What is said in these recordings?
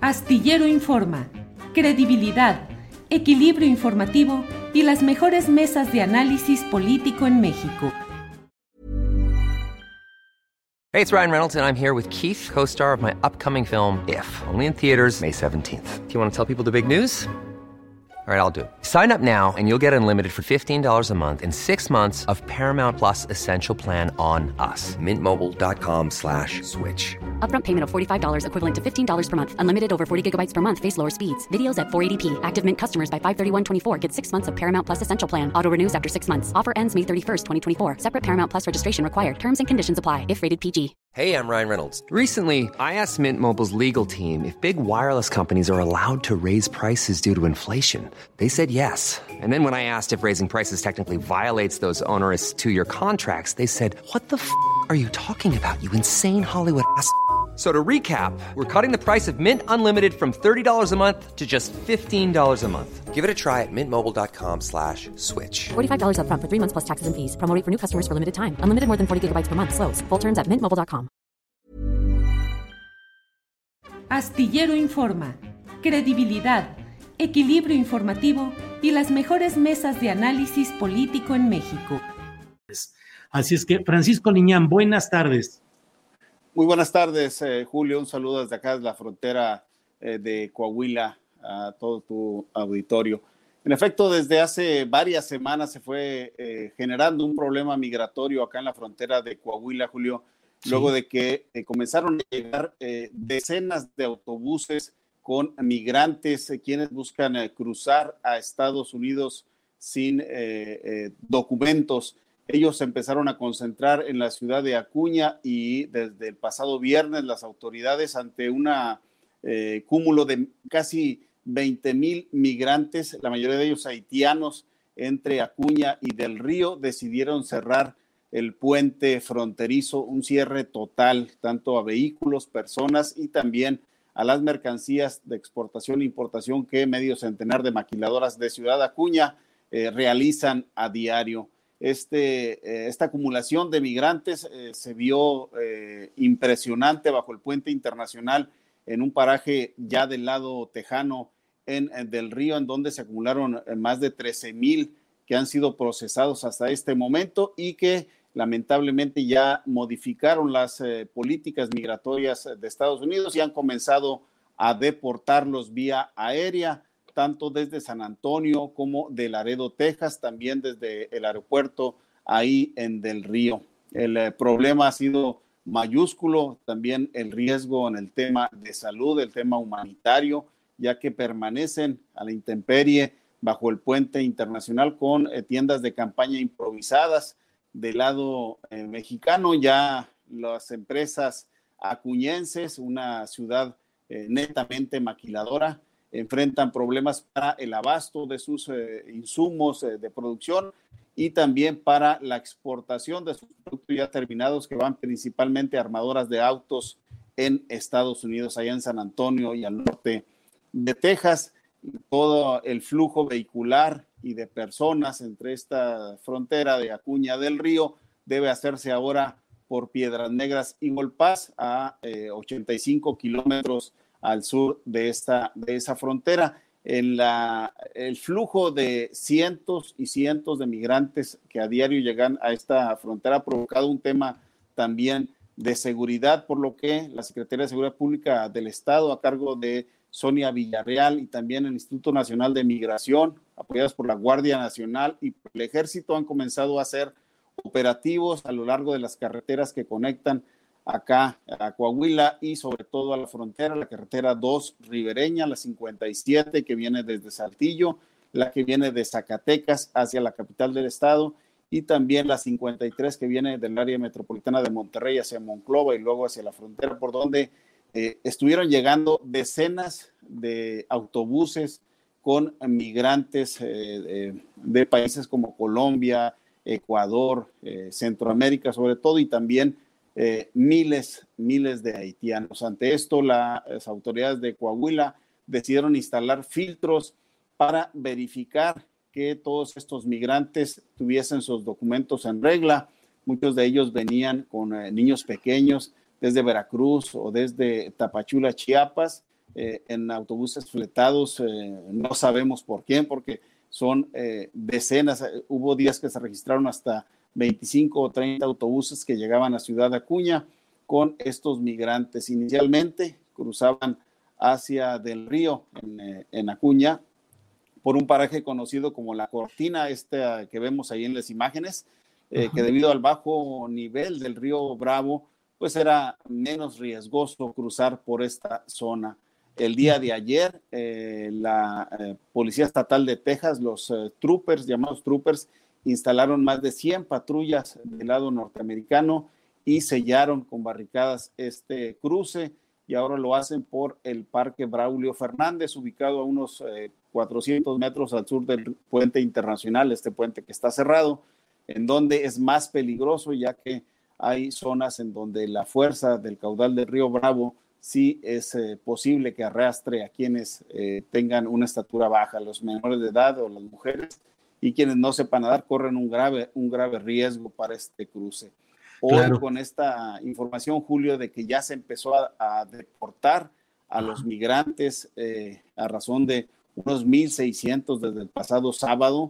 Astillero Informa, credibilidad, equilibrio informativo y las mejores mesas de análisis político en México. Hey, it's Ryan Reynolds, and I'm here with Keith, co-star of my upcoming film, If, only in theaters May 17th. Do you want to tell people the big news? All right, I'll do it. Sign up now and you'll get unlimited for $15 a month and 6 months of Paramount Plus Essential Plan on us. MintMobile.com/switch. Upfront payment of $45 equivalent to $15 per month. Unlimited over 40 gigabytes per month. Face lower speeds. Videos at 480p. Active Mint customers by 531.24 get 6 months of Paramount Plus Essential Plan. Auto renews after 6 months. Offer ends May 31st, 2024. Separate Paramount Plus registration required. Terms and conditions apply if rated PG. Hey, I'm Ryan Reynolds. Recently, I asked Mint Mobile's legal team if big wireless companies are allowed to raise prices due to inflation. They said yes. And then when I asked if raising prices technically violates those onerous 2-year contracts, they said, "What the f*** are you talking about, you insane Hollywood ass?" So to recap, we're cutting the price of Mint Unlimited from $30 a month to just $15 a month. Give it a try at mintmobile.com/switch. $45 upfront for 3 months plus taxes and fees. Promo rate for new customers for limited time. Unlimited more than 40 gigabytes per month. Slows full terms at mintmobile.com. Astillero Informa, credibilidad, equilibrio informativo y las mejores mesas de análisis político en México. Así es que, Francisco Liñán, buenas tardes. Muy buenas tardes, Julio. Un saludo desde acá, desde la frontera de Coahuila, a todo tu auditorio. En efecto, desde hace varias semanas se fue generando un problema migratorio acá en la frontera de Coahuila, Julio, luego de que comenzaron a llegar decenas de autobuses con migrantes, quienes buscan cruzar a Estados Unidos sin documentos. Ellos se empezaron a concentrar en la ciudad de Acuña y desde el pasado viernes las autoridades, ante un cúmulo de casi 20,000 migrantes, la mayoría de ellos haitianos, entre Acuña y Del Río, decidieron cerrar el puente fronterizo, un cierre total, tanto a vehículos, personas y también a las mercancías de exportación e importación que medio centenar de maquiladoras de Ciudad Acuña realizan a diario. Esta acumulación de migrantes se vio impresionante bajo el puente internacional en un paraje ya del lado tejano en Del Río, en donde se acumularon más de 13,000 que han sido procesados hasta este momento y que lamentablemente ya modificaron las políticas migratorias de Estados Unidos y han comenzado a deportarlos vía aérea, tanto desde San Antonio como de Laredo, Texas, también desde el aeropuerto ahí en Del Río. El problema ha sido mayúsculo, también el riesgo en el tema de salud, el tema humanitario, ya que permanecen a la intemperie bajo el puente internacional con tiendas de campaña improvisadas. Del lado mexicano, ya las empresas acuñenses, una ciudad netamente maquiladora, enfrentan problemas para el abasto de sus insumos de producción y también para la exportación de sus productos ya terminados, que van principalmente a armadoras de autos en Estados Unidos, allá en San Antonio y al norte de Texas. Todo el flujo vehicular y de personas entre esta frontera de Acuña del Río debe hacerse ahora por Piedras Negras y Golpaz, a 85 kilómetros al sur de esa frontera. El flujo de cientos y cientos de migrantes que a diario llegan a esta frontera ha provocado un tema también de seguridad, por lo que la Secretaría de Seguridad Pública del Estado, a cargo de Sonia Villarreal, y también el Instituto Nacional de Migración, apoyados por la Guardia Nacional y por el Ejército, han comenzado a hacer operativos a lo largo de las carreteras que conectan acá a Coahuila y sobre todo a la frontera, la carretera 2 ribereña, la 57 que viene desde Saltillo, la que viene de Zacatecas hacia la capital del estado y también la 53 que viene del área metropolitana de Monterrey hacia Monclova y luego hacia la frontera, por donde estuvieron llegando decenas de autobuses con migrantes de países como Colombia, Ecuador, Centroamérica sobre todo, y también miles de haitianos. Ante esto, las autoridades de Coahuila decidieron instalar filtros para verificar que todos estos migrantes tuviesen sus documentos en regla. Muchos de ellos venían con niños pequeños desde Veracruz o desde Tapachula, Chiapas. en autobuses fletados, no sabemos por quién, porque son decenas, hubo días que se registraron hasta 25 o 30 autobuses que llegaban a Ciudad Acuña con estos migrantes. Inicialmente cruzaban hacia Del Río, en Acuña, por un paraje conocido como La Cortina, que vemos ahí en las imágenes, que debido al bajo nivel del río Bravo, pues era menos riesgoso cruzar por esta zona. El día de ayer, la Policía Estatal de Texas, los llamados troopers, instalaron más de 100 patrullas del lado norteamericano y sellaron con barricadas este cruce, y ahora lo hacen por el Parque Braulio Fernández, ubicado a unos 400 metros al sur del puente internacional, este puente que está cerrado, en donde es más peligroso, ya que hay zonas en donde la fuerza del caudal del río Bravo sí es posible que arrastre a quienes tengan una estatura baja, los menores de edad o las mujeres, y quienes no sepan nadar corren un grave riesgo para este cruce. Hoy, claro, con esta información, Julio, de que ya se empezó a deportar a los migrantes a razón de unos 1,600 desde el pasado sábado,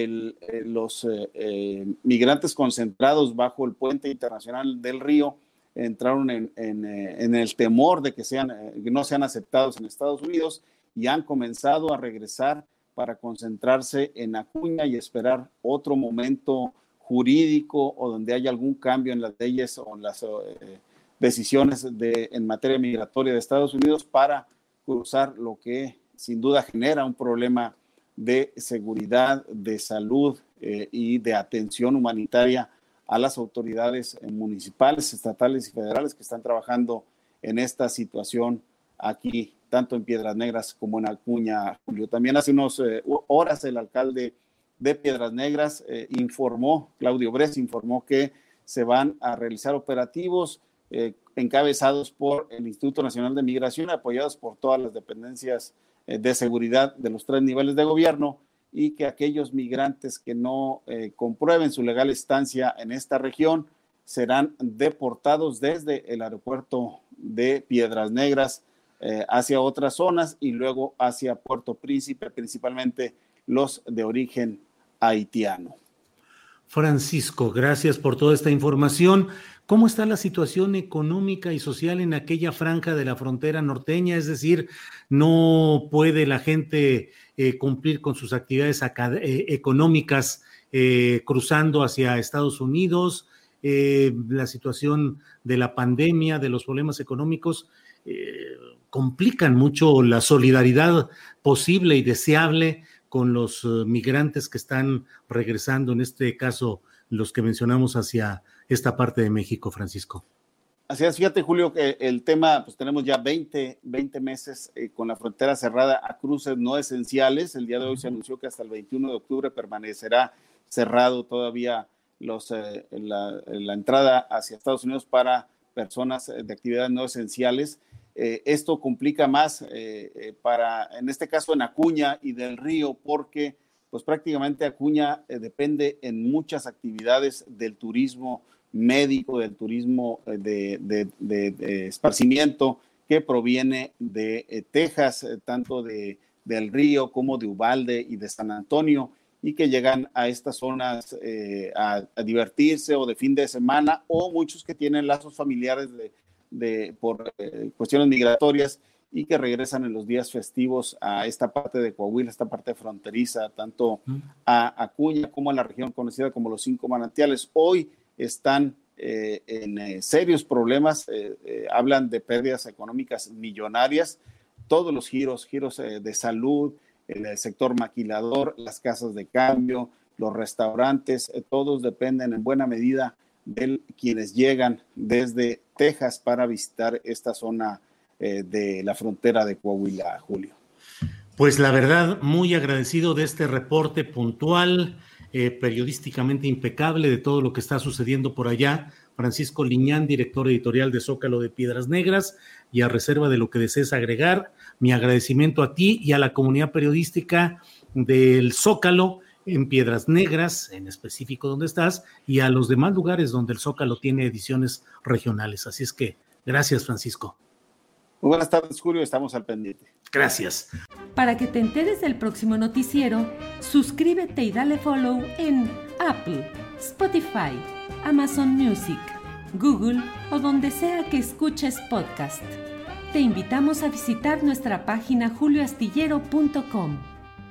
los migrantes concentrados bajo el puente internacional del río entraron en el temor de que no sean aceptados en Estados Unidos, y han comenzado a regresar para concentrarse en Acuña y esperar otro momento jurídico o donde haya algún cambio en las leyes o en las decisiones en materia migratoria de Estados Unidos para cruzar lo que sin duda genera un problema de seguridad, de salud y de atención humanitaria a las autoridades municipales, estatales y federales que están trabajando en esta situación aquí, tanto en Piedras Negras como en Acuña, Julio. También hace unas horas el alcalde de Piedras Negras Claudio Bres informó que se van a realizar operativos encabezados por el Instituto Nacional de Migración, apoyados por todas las dependencias de seguridad de los 3 niveles de gobierno, y que aquellos migrantes que no comprueben su legal estancia en esta región serán deportados desde el aeropuerto de Piedras Negras hacia otras zonas y luego hacia Puerto Príncipe, principalmente los de origen haitiano. Francisco, gracias por toda esta información. ¿Cómo está la situación económica y social en aquella franja de la frontera norteña? Es decir, ¿no puede la gente cumplir con sus actividades económicas cruzando hacia Estados Unidos? La situación de la pandemia, de los problemas económicos, complican mucho la solidaridad posible y deseable con los migrantes que están regresando, en este caso los que mencionamos hacia esta parte de México, Francisco. Así es, fíjate, Julio, que el tema, pues tenemos ya 20 meses con la frontera cerrada a cruces no esenciales. El día de hoy se anunció que hasta el 21 de octubre permanecerá cerrado todavía la entrada hacia Estados Unidos para personas de actividades no esenciales. Esto complica más en este caso en Acuña y Del Río, porque pues prácticamente Acuña depende en muchas actividades del turismo médico, del turismo de esparcimiento que proviene de Texas, tanto Del Río como de Uvalde y de San Antonio, y que llegan a estas zonas a divertirse o de fin de semana, o muchos que tienen lazos familiares por cuestiones migratorias y que regresan en los días festivos a esta parte de Coahuila, esta parte fronteriza, tanto a Acuña como a la región conocida como los 5 manantiales. Hoy están en serios problemas, hablan de pérdidas económicas millonarias, todos los giros de salud, el sector maquilador, las casas de cambio, los restaurantes, todos dependen en buena medida de quienes llegan desde Texas para visitar esta zona de la frontera de Coahuila, Julio. Pues la verdad, muy agradecido de este reporte puntual, periodísticamente impecable de todo lo que está sucediendo por allá. Francisco Liñán, director editorial de Zócalo de Piedras Negras, y a reserva de lo que desees agregar, mi agradecimiento a ti y a la comunidad periodística del Zócalo en Piedras Negras, en específico donde estás, y a los demás lugares donde el Zócalo tiene ediciones regionales. Así es que, gracias, Francisco. Muy buenas tardes, Julio, estamos al pendiente. Gracias. Para que te enteres del próximo noticiero, suscríbete y dale follow en Apple, Spotify, Amazon Music, Google o donde sea que escuches podcast. Te invitamos a visitar nuestra página julioastillero.com.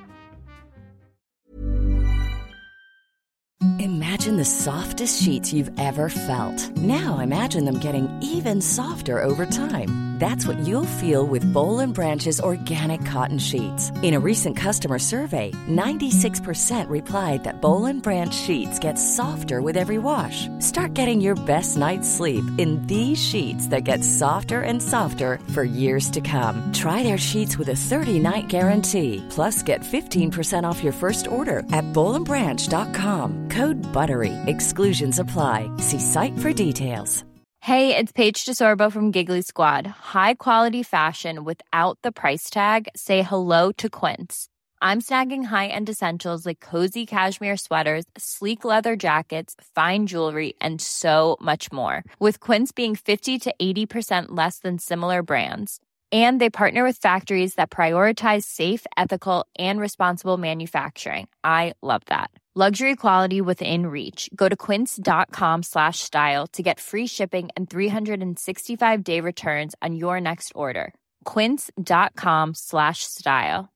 Imagine the softest sheets you've ever felt. Now imagine them getting even softer over time. That's what you'll feel with Boll & Branch's organic cotton sheets. In a recent customer survey, 96% replied that Boll & Branch sheets get softer with every wash. Start getting your best night's sleep in these sheets that get softer and softer for years to come. Try their sheets with a 30-night guarantee. Plus, get 15% off your first order at bollandbranch.com. Code BUTTERY. Exclusions apply. See site for details. Hey, it's Paige DeSorbo from Giggly Squad. High quality fashion without the price tag. Say hello to Quince. I'm snagging high-end essentials like cozy cashmere sweaters, sleek leather jackets, fine jewelry, and so much more. With Quince being 50 to 80% less than similar brands. And they partner with factories that prioritize safe, ethical, and responsible manufacturing. I love that. Luxury quality within reach. Go to quince.com/style to get free shipping and 365-day returns on your next order. Quince.com/style.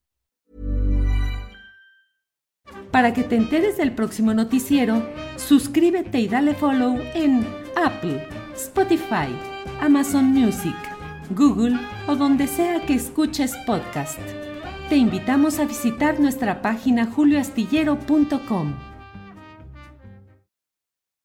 Para que te enteres del próximo noticiero, suscríbete y dale follow en Apple, Spotify, Amazon Music, Google o donde sea que escuches podcast. Te invitamos a visitar nuestra página julioastillero.com.